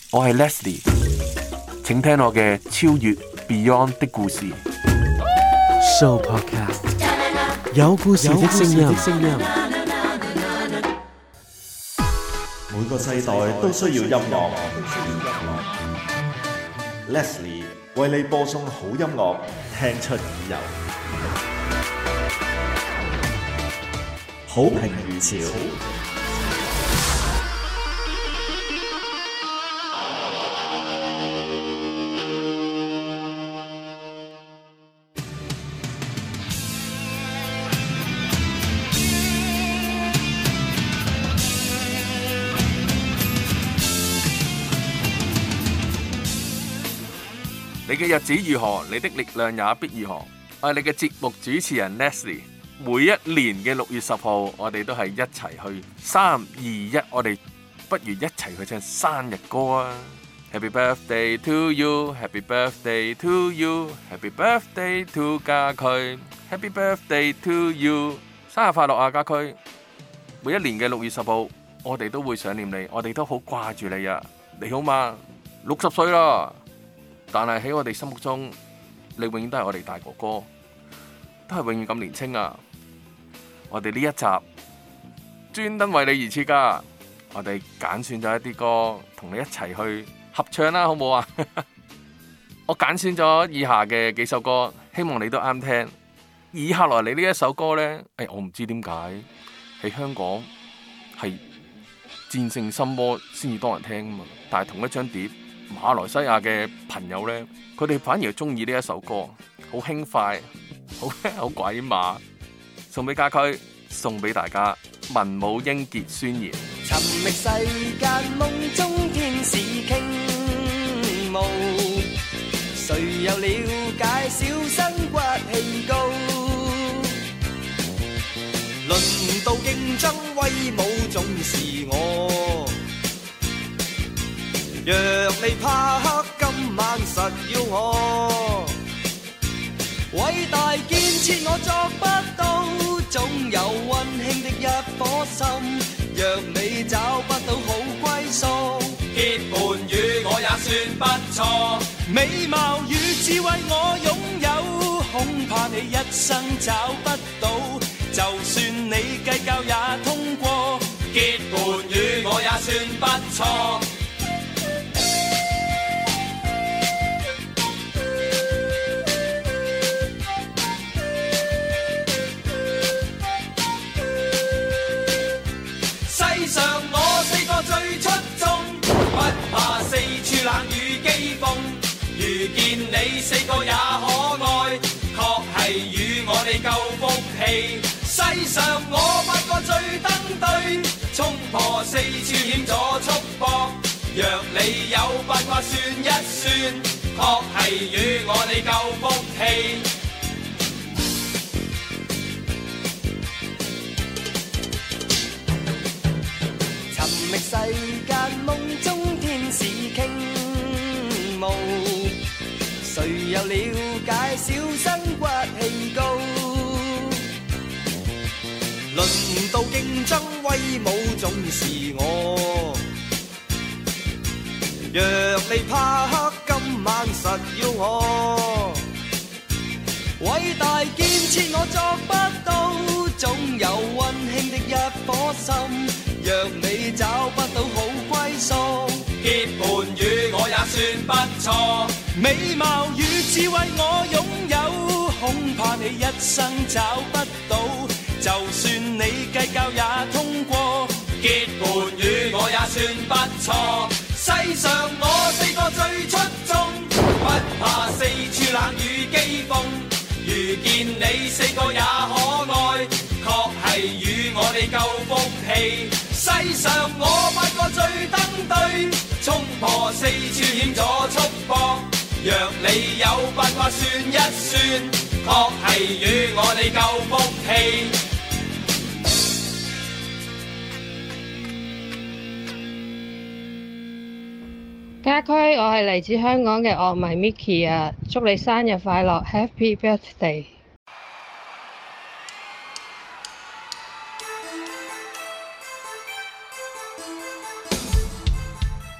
我係 Leslie，請聽我嘅超越 Beyond 的故事。 Show Podcast 有故事的聲音。 每個世代都需要音樂。Leslie 為你播送好音樂，聽出耳油，好評如潮。 你嘅日子如何，你的力量也必如何。我係你嘅節目主持人 Leslie。每一年嘅6月10號，我哋都係一齊去3、2、1，我哋不如一齊去唱生日歌啊 ！Happy birthday to you, Happy birthday to you, Happy birthday to 家駒 ，Happy birthday to you， 生日快樂啊家駒！每一年嘅6月10號，我哋都會想念你，我哋都好掛住你啊！你好嘛？60歲啦！但係喺我哋心目中，你永遠都係我哋大哥哥，都係永遠咁年輕啊！我哋呢一集專登為你而設噶，我哋揀選咗一啲歌，同你一齊去合唱啦，好唔好啊？我揀選咗以下嘅幾首歌，希望你都啱聽。以下來你呢一首歌呢，我唔知點解喺香港係戰勝心魔先至多人聽啊嘛，但係同一張碟。馬來西亞嘅朋友呢，佢哋反而中意呢一首歌，好輕快，好鬼馬，送俾家駒，送俾大家。文武英傑宣言。 尋覓世間夢中天使傾慕，誰又了解小生骨氣高？輪到競爭威武總是我。若你怕黑，今晚實要我偉大建設，我作不到，總有溫馨的一顆心。若你找不到好歸宿，結伴與我也算不錯。美貌與智慧我擁有，恐怕你一生找不到。就算你計較也通過，結伴與我也算不錯。上我4個最出眾，不怕四處冷雨譏諷。遇見你4個也可愛，確係與我哋夠福氣。世上我8個最登對，衝破4處險阻束縛。若你有八卦算一算，確係與我哋夠福氣。覓世間夢中天使傾慕，誰又了解小生骨氣高？輪到競爭威武總是我。若你怕黑，今晚實要我偉大建設，我作不到，總有溫馨的一顆心。若你找不到好歸宿，結伴與我也算不錯。美貌與智慧我擁有，恐怕你一生找不到。就算你計較也通過，結伴與我也算不錯。世上我4個最出眾，不怕4處冷雨譏諷。遇見你4個也可愛，確係與我哋夠福氣。世上我8個最登對，衝破4處險阻束縛。若你有八卦算一算，確係與我哋夠福氣。 家駒，我係嚟自香港嘅樂迷 Micky 啊，祝你生日快樂 ，Happy Birthday！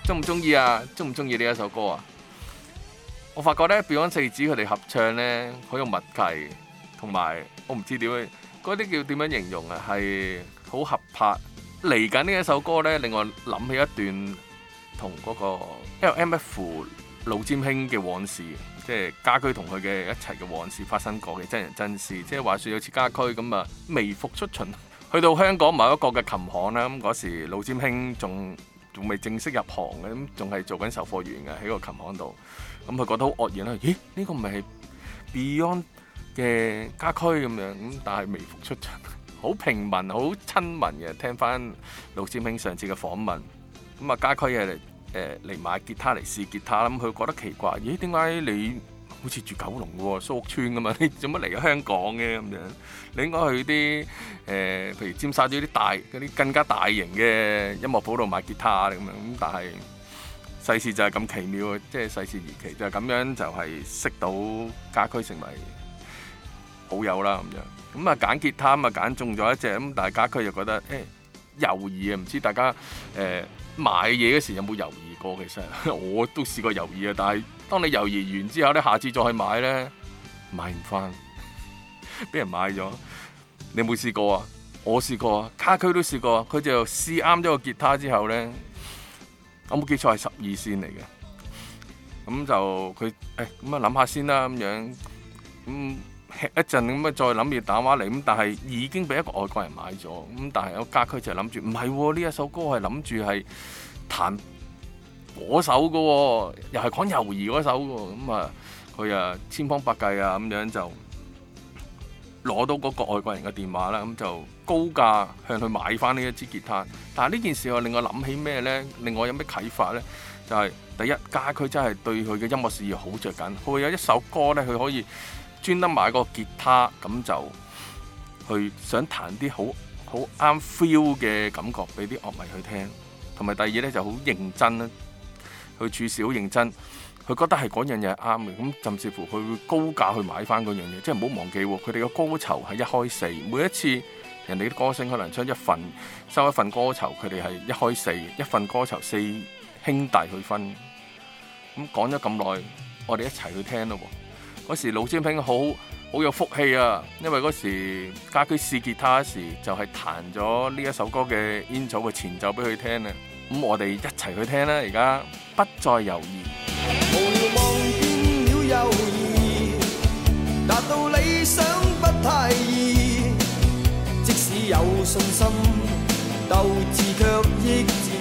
中唔中意啊？中唔中意呢一首歌啊？我發覺咧 Beyond 四子佢哋合唱咧好有默契，同埋我唔知點樣嗰啲叫點樣形容啊，係好合拍。嚟緊呢一首歌咧，令我諗起一段同嗰個 LMF 老占興嘅往事，即係家駒同佢嘅一齊嘅往事發生過嘅真人真事。即係話説有次家駒咁啊，微服出巡去到香港某一個嘅琴行啦，咁嗰時老占興仲未正式入行嘅，咁仲係做緊售貨員嘅喺個琴行度。咁佢覺得好愕然啦，咦？呢個唔係 Beyond 嘅家駒咁樣，咁但係微服出巡，好平民、好親民嘅。聽翻老占興上次嘅訪問，咁啊家駒係嚟買吉他嚟試吉他啦。咁佢覺得奇怪，咦？點解你好似住九龍嘅喎，蘇屋村咁嘛？你做乜嚟咗香港嘅咁樣？你應該去啲譬如尖沙咀啲嗰啲更加大型嘅音樂鋪度買吉他咁樣。咁但係世事就係咁奇妙，即係世事如奇，就係咁樣就係識到家駒成為好友啦咁樣。咁啊揀吉他啊揀中咗一隻，咁但係家駒又覺得猶豫啊，唔知大家買嘢嗰時有冇猶豫過？其實我都試過猶豫啊，但係當你猶豫完之後咧，下次再去買咧，買唔翻，俾人買咗。你有冇試過啊？我試過啊，家駒都試過。佢就試啱咗個吉他之後咧，我冇記錯係12線嚟嘅。咁就佢咁啊諗下先啦咁樣，咁吃一陣咁啊再諗住打電話嚟，咁但係已經俾一個外國人買咗。咁但係我家駒就諗住唔係喎，呢一首歌係諗住係彈嗰首嘅喎，又係講猶豫嗰首喎。咁啊佢啊千方百計啊咁樣就攞到嗰個外國人嘅電話啦，咁就高價向佢買翻呢一支吉他。但係呢件事我令我諗起咩呢？令我有咩啟發呢？就係第一，家駒真係對佢嘅音樂事業好着緊。佢會有一首歌呢，佢可以專登買個吉他，咁就去想彈啲好啱 feel 嘅感覺俾啲樂迷去聽。同埋第二呢，就好認真啦，佢處事好認真。佢覺得係嗰樣嘢係啱嘅，咁甚至乎佢會高價去買翻嗰樣嘢，即係唔好忘記喎。佢哋嘅歌酬係1開4，每一次人哋啲歌星可能出收一份歌酬，佢哋係1開4，一份歌酬4兄弟去分。咁講咗咁耐，我哋一齊去聽咯。嗰時老占興好有福氣啊，因為嗰時家駒試吉他時就係彈咗呢一首歌嘅煙草嘅前奏俾佢聽啊。咁我哋一齊去聽啦，而家不再猶豫。 無聊望見了猶豫，達到理想不太易，即使有信心，鬥志卻抑止。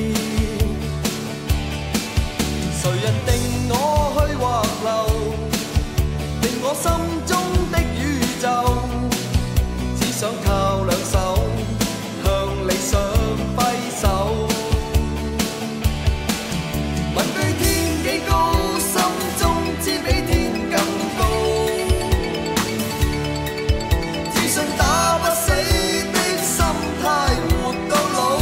誰人定我去或留，定我心中的宇宙，只想靠兩手向理想揮手。問句天幾高，心中知比天更高，自信打不死的心態活到老。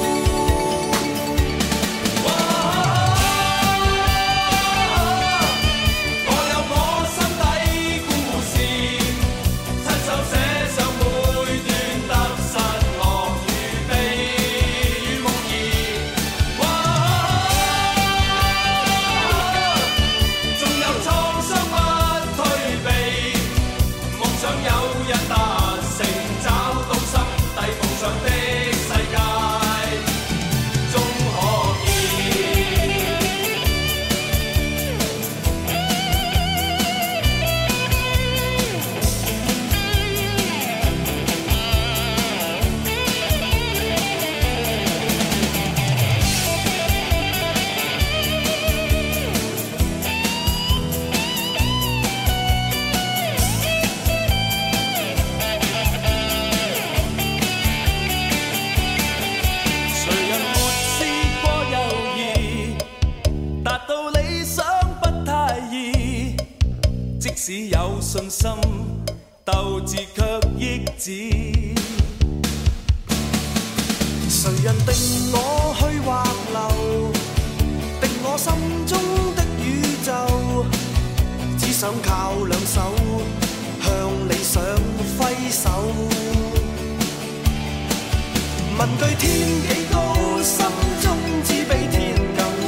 我有我心底故事，親手寫上每段得失樂與悲與夢兒。縱有創傷不退避，夢想有日達成，找到心底夢想的世界，終可見。誰人沒試過猶豫，達到理想不太易，即使有信心，鬥志卻抑止。誰人定我去或留，定我心中的宇宙，只想靠兩手向理想揮手。問句天幾高，心中知比天更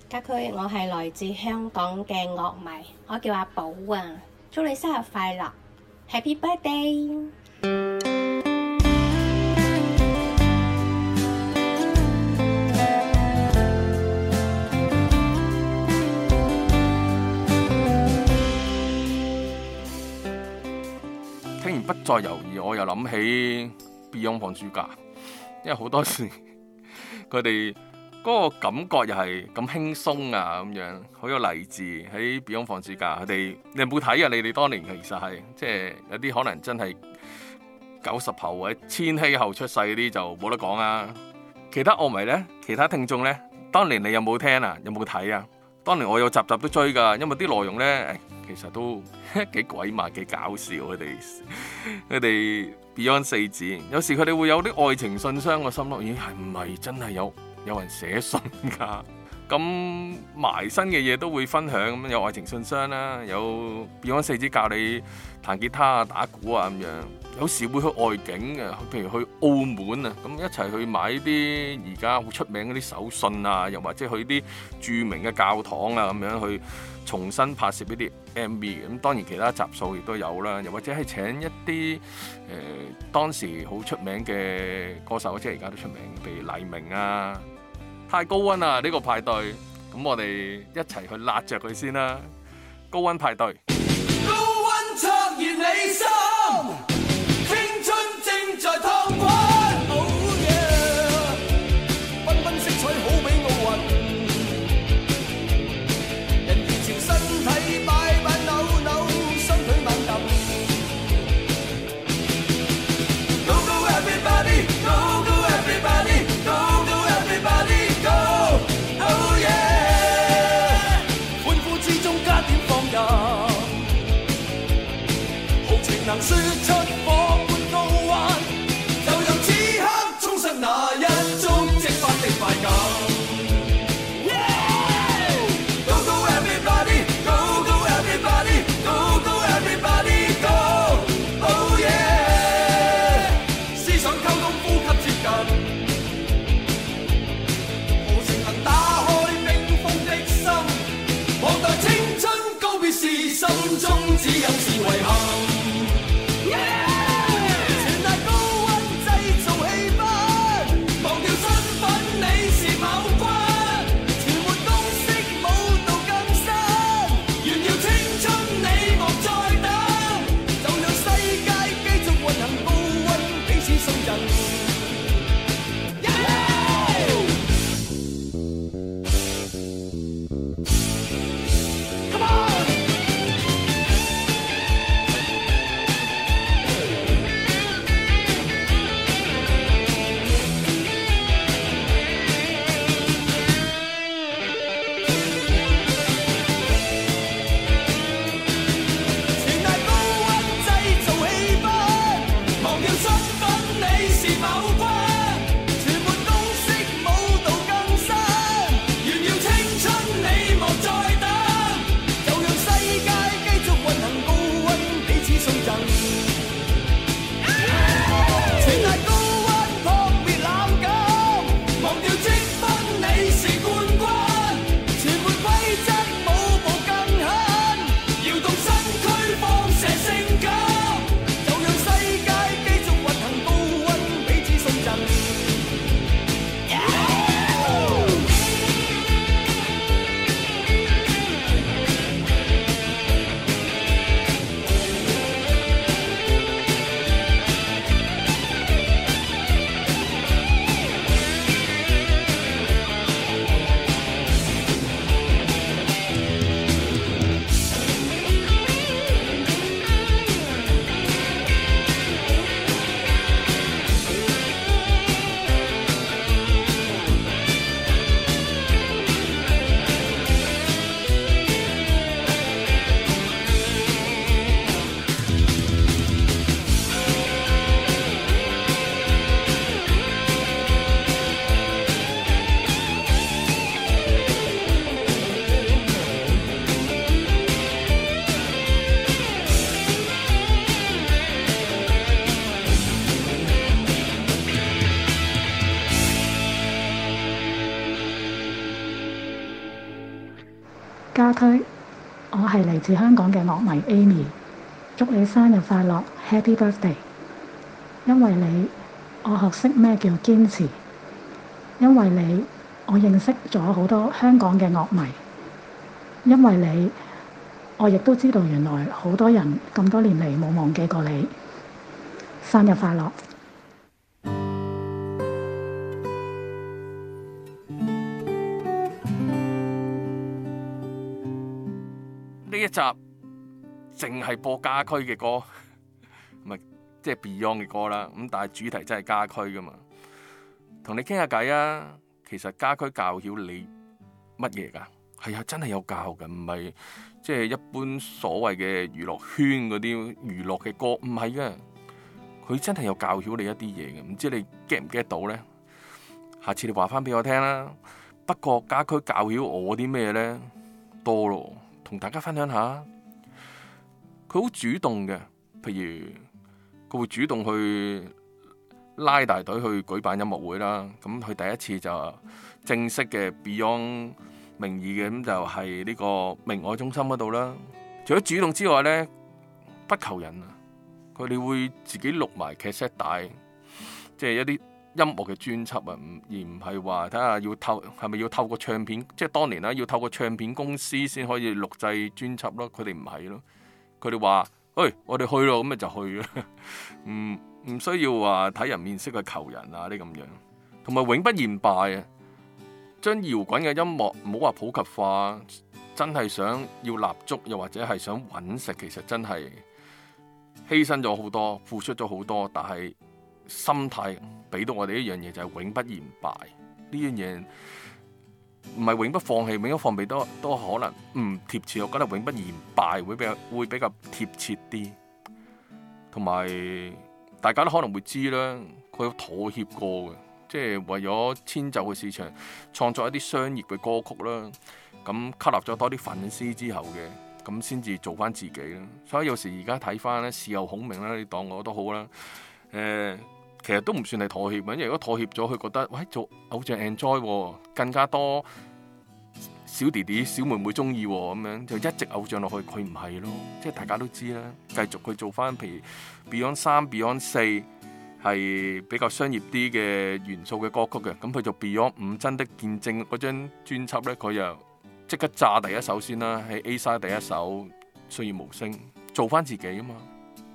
家駒，我係來自香港嘅樂迷，我叫阿寶啊，祝你生日快樂 ，Happy Birthday！ 聽完不再猶豫，我又諗起 Beyond 放暑假，因為好多時佢哋嗰個感覺又係咁輕鬆啊，咁樣好有勵志。喺 Beyond 放暑假，佢哋你有冇睇啊？你哋當年其實係即係有啲可能真係90後或者千禧後出世嗰啲就冇得講啊。其他樂迷呢，其他聽眾呢，當年你有冇聽啊？有冇睇啊？當年我有集集都追㗎，因為啲內容呢，其實都幾鬼馬幾搞笑。佢哋 Beyond 四子，有時佢哋會有啲愛情信箱，我心諗咦係唔係真係有人寫信㗎？咁埋身嘅嘢都會分享，咁有愛情信箱啦，有 Beyond 四子教你彈吉他啊、打鼓啊咁樣。有時會去外景嘅，譬如去澳門啊，咁一齊去買啲而家好出名嗰啲手信啊，又或者去啲著名嘅教堂啊咁樣去重新拍攝一啲 MV 嘅。咁當然其他集數亦都有啦，又或者係請一啲當時好出名嘅歌手，即係而家都出名，譬如黎明啊、太高溫啊呢個派對，咁我哋一齊去辣着佢先啦。高溫派對。 高溫灼熱你心，青春正在燙滾。Oh yeah， 繽紛色彩好比奧運，人如潮身體擺擺扭扭，雙腿猛揼。Go go everybody， go go everybody， go go everybody go。Oh yeah， 歡呼之中加點放任。 區，我係嚟自香港嘅樂迷 Amy， 祝你生日快樂 Happy Birthday！ 因為你，我學識咩叫堅持；因為你，我認識咗好多香港嘅樂迷；因為你，我亦都知道原來好多人咁多年嚟冇忘記過你。生日快樂！ 呢一集淨係播家駒嘅歌，唔係即係 Beyond 嘅歌啦。咁但係主題真係家駒噶嘛，同你傾下偈啊。其實家駒教曉你乜嘢㗎？係啊，真係有教嘅，唔係即係一般所謂嘅娛樂圈嗰啲娛樂嘅歌，唔係嘅。佢真係有教曉你一啲嘢嘅，唔知你 get 唔 get 到呢？下次你話翻俾我聽啦。不過家駒教曉我啲咩呢？多咯。同大家分享下，佢好主動嘅，譬如佢會主動去拉大隊去舉辦音樂會啦。咁佢第一次就正式嘅 Beyond 名義嘅，咁就係呢個明愛中心嗰度啦。除咗主動之外呢，不求人啊，佢哋會自己錄埋 cassette 帶，即係一啲音樂嘅專輯啊，而唔係話睇下係咪要透過唱片，即係當年啦，要透過唱片公司先可以錄製專輯咯。佢哋唔係咯，佢哋話：喂，我哋去咯，咁咪就去啦。唔需要話睇人面色去求人啊啲咁樣，同埋永不言敗啊！將搖滾嘅音樂唔好話普及化，真係想要立足，又或者係想揾食，其實真係犧牲咗好多，付出咗好多，但係心態俾到我哋一樣嘢，就係永不言敗。呢樣嘢唔係永不放棄，永不放棄都可能唔貼切。我覺得永不言敗會比較貼切啲。同埋大家都可能會知啦，佢有妥協過嘅，即係為咗遷就個市場，創作一啲商業嘅歌曲啦。咁吸納咗多啲粉絲之後嘅，咁先至做翻自己啦。所以有時而家睇翻咧，事後孔明啦，你當我都好啦。其實都唔算係妥協，因為如果妥協咗，佢覺得喂做偶像 enjoy，更加多小弟弟小妹妹中意咁樣，就一直偶像落去。佢唔係咯，即係大家都知啦。繼續佢做翻譬如 Beyond 3、Beyond 4係比較商業啲嘅元素嘅歌曲嘅，咁佢做 Beyond 5真的見證嗰張專輯咧，佢又即刻炸第一首先啦，喺 A side 第一首歲月無聲，做翻自己啊嘛。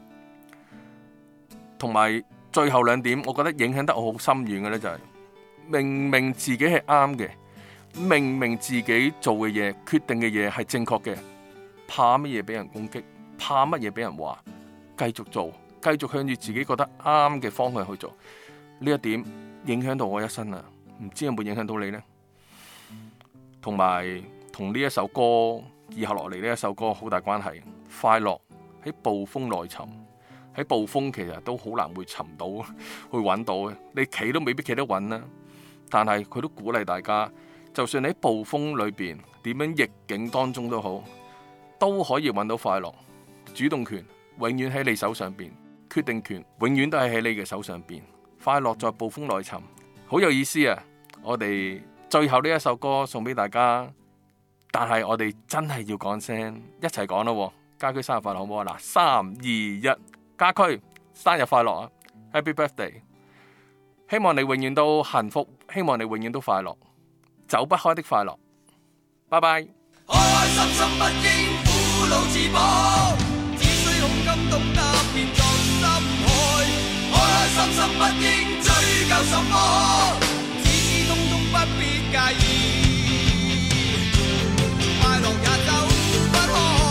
同埋最後兩點，我覺得影響得我好深遠嘅咧，就係明明自己係啱嘅，明明自己做嘅嘢、決定嘅嘢係正確嘅，怕乜嘢俾人攻擊，怕乜嘢俾人話，繼續做，繼續向住自己覺得啱嘅方向去做。呢一點影響到我一生啊！唔知有冇影響到你呢？同埋同呢一首歌以後落嚟呢一首歌好大關係。快樂喺暴風內尋。喺暴風其實都好難會尋到，去揾到嘅。你企都未必企得穩啦。但係佢都鼓勵大家，就算你喺暴風裏邊點樣逆境當中都好，都可以揾到快樂。主動權永遠喺你手上邊，決定權永遠都係喺你嘅手上邊。快樂在暴風內尋，好有意思啊！我哋最後呢一首歌送俾大家，但係我哋真係要講聲，一齊講咯。家駒生日快樂好唔好啊？嗱，3、2、1。家駒生日快樂啊 ！Happy Birthday！ 希望你永遠都幸福，希望你永遠都快樂，走不開的快樂。拜拜。開開心心不應苦惱自綁，只需胸襟懂得變作心海。開開心心不應追究什麼，只知通通不必介意，快樂也走不開。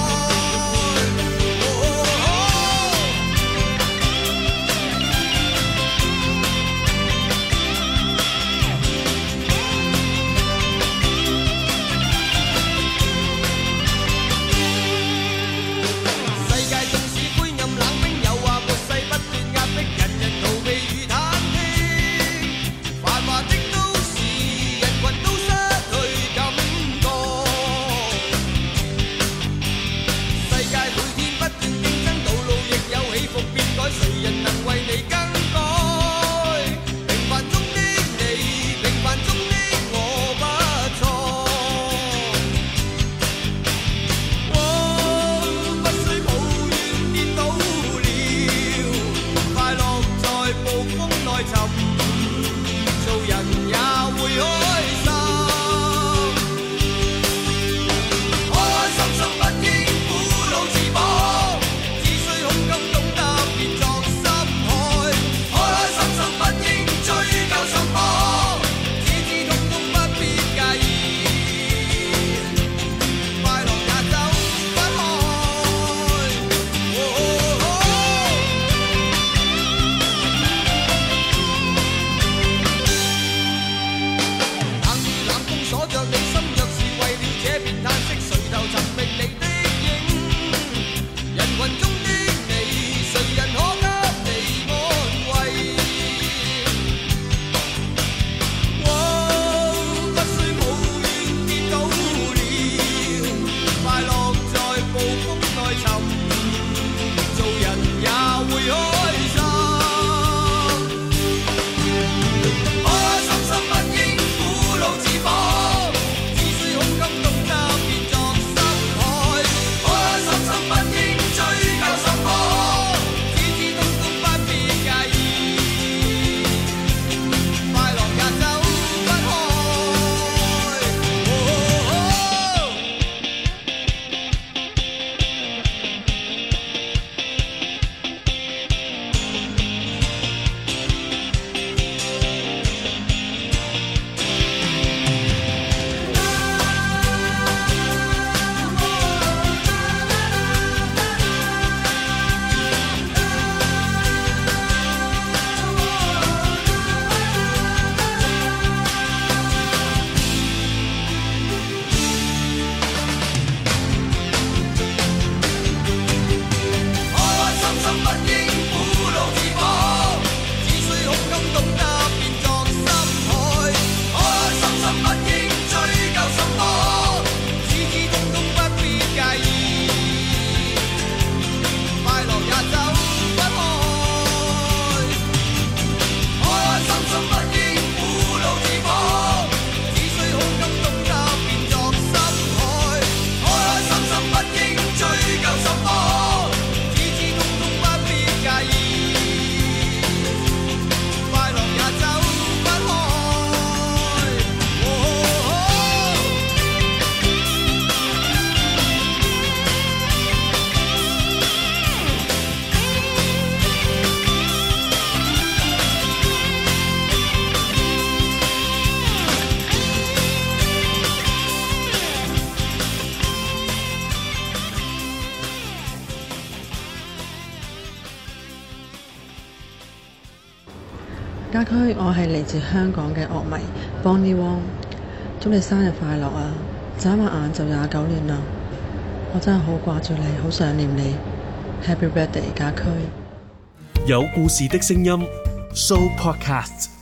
家駒，我係嚟自香港嘅樂迷 Bonnie Wong， 祝你生日快樂啊！眨下眼就29年啦，我真係好掛住你，好想念你。Happy birthday， 家駒！ 有故事的聲音 Show Podcast。